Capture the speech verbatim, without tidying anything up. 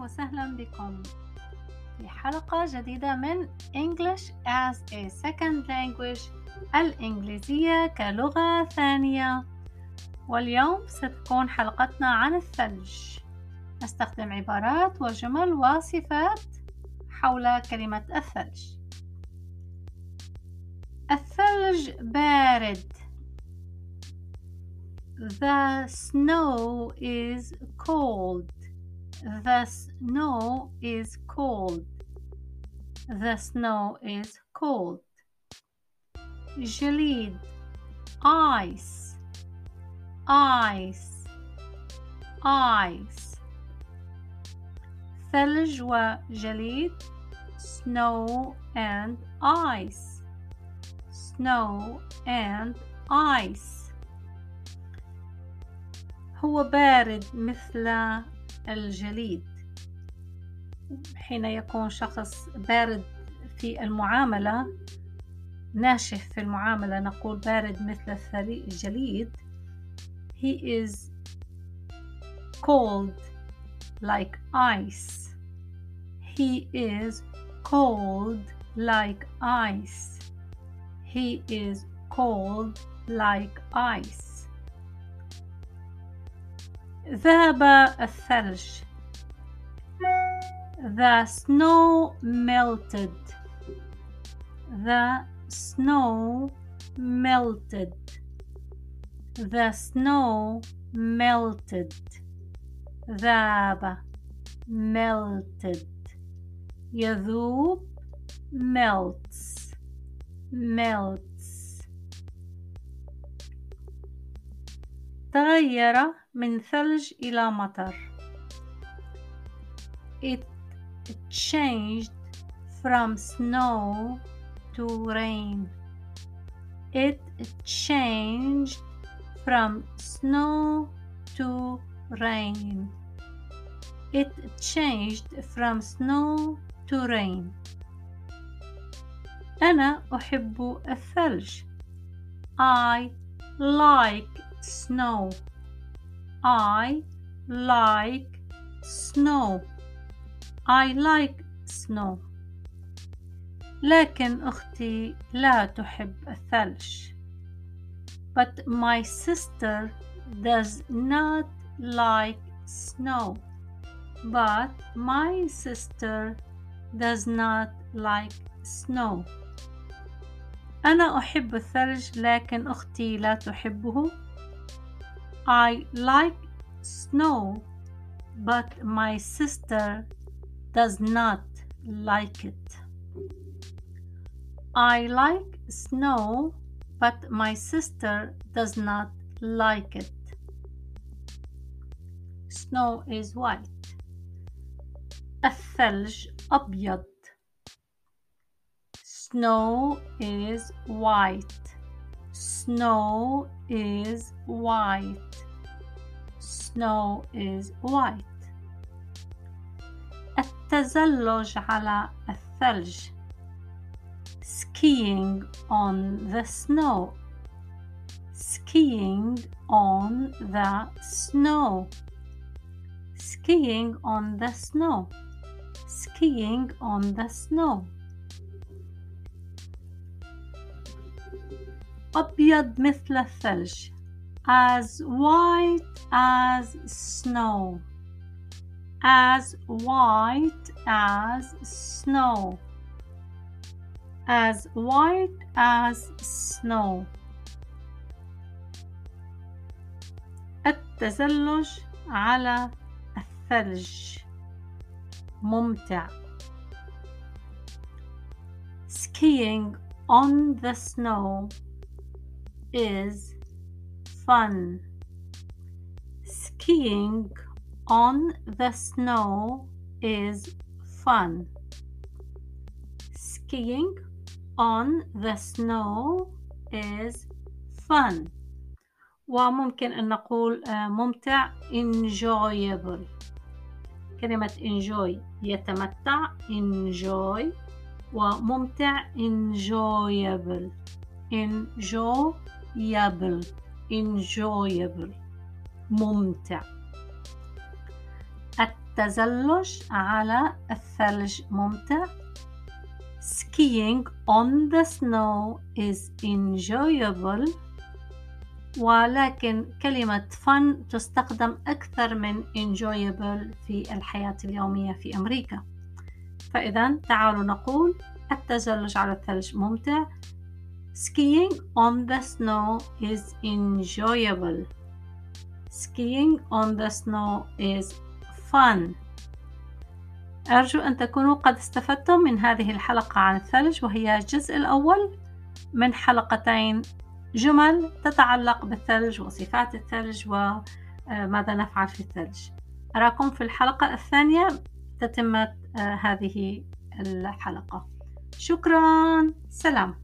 وسهلا بكم في حلقة جديدة من English as a Second Language الإنجليزية كلغة ثانية. واليوم ستكون حلقتنا عن الثلج. نستخدم عبارات وجمل وصفات حول كلمة الثلج. الثلج بارد. The snow is cold. The snow is cold. The snow is cold. جليد ice ice ice. ثلج وجليد snow and ice snow and ice. هو بارد مثل الجليد. حين يكون شخص بارد في المعاملة، ناشف في المعاملة، نقول بارد مثل الجليد. He is cold like ice. He is cold like ice. He is cold like ice. ذهب الثلج. The snow melted. The snow melted. The snow melted. ذاب melted. يذوب melts melts. تغير من ثلج إلى مطر. It changed from snow to rain. It changed from snow to rain. It changed from snow to rain. أنا أحب الثلج. I like snow. I like snow. I like snow. لكن أختي لا تحب الثلج. But my sister does not like snow. But my sister does not like snow. أنا أحب الثلج لكن أختي لا تحبه. I like snow, but my sister does not like it. I like snow, but my sister does not like it. Snow is white. الثلج أبيض. Snow is white. Snow is white. Snow is white. التزلج على الثلج. Skiing on the snow. Skiing on the snow. Skiing on the snow. Skiing on the snow. أبيض مثل الثلج. As white as snow. As white as snow. As white as snow. التزلج على الثلج ممتع. Skiing on the snow is fun. Skiing on the snow is fun. Skiing on the snow is fun. وممكن أن نقول ممتع enjoyable. كلمة enjoy يتمتع enjoy، وممتع enjoyable enjoyable enjoyable ممتع. التزلج على الثلج ممتع. Skiing on the snow is enjoyable. ولكن كلمة fun تستخدم أكثر من enjoyable في الحياة اليومية في أمريكا. فإذا تعالوا نقول التزلج على الثلج ممتع. Skiing on the snow is enjoyable. Skiing on the snow is fun. أرجو أن تكونوا قد استفدتم من هذه الحلقة عن الثلج، وهي الجزء الأول من حلقتين جمل تتعلق بالثلج وصفات الثلج وماذا نفعل في الثلج. أراكم في الحلقة الثانية تتمة هذه الحلقة. شكرا، سلام.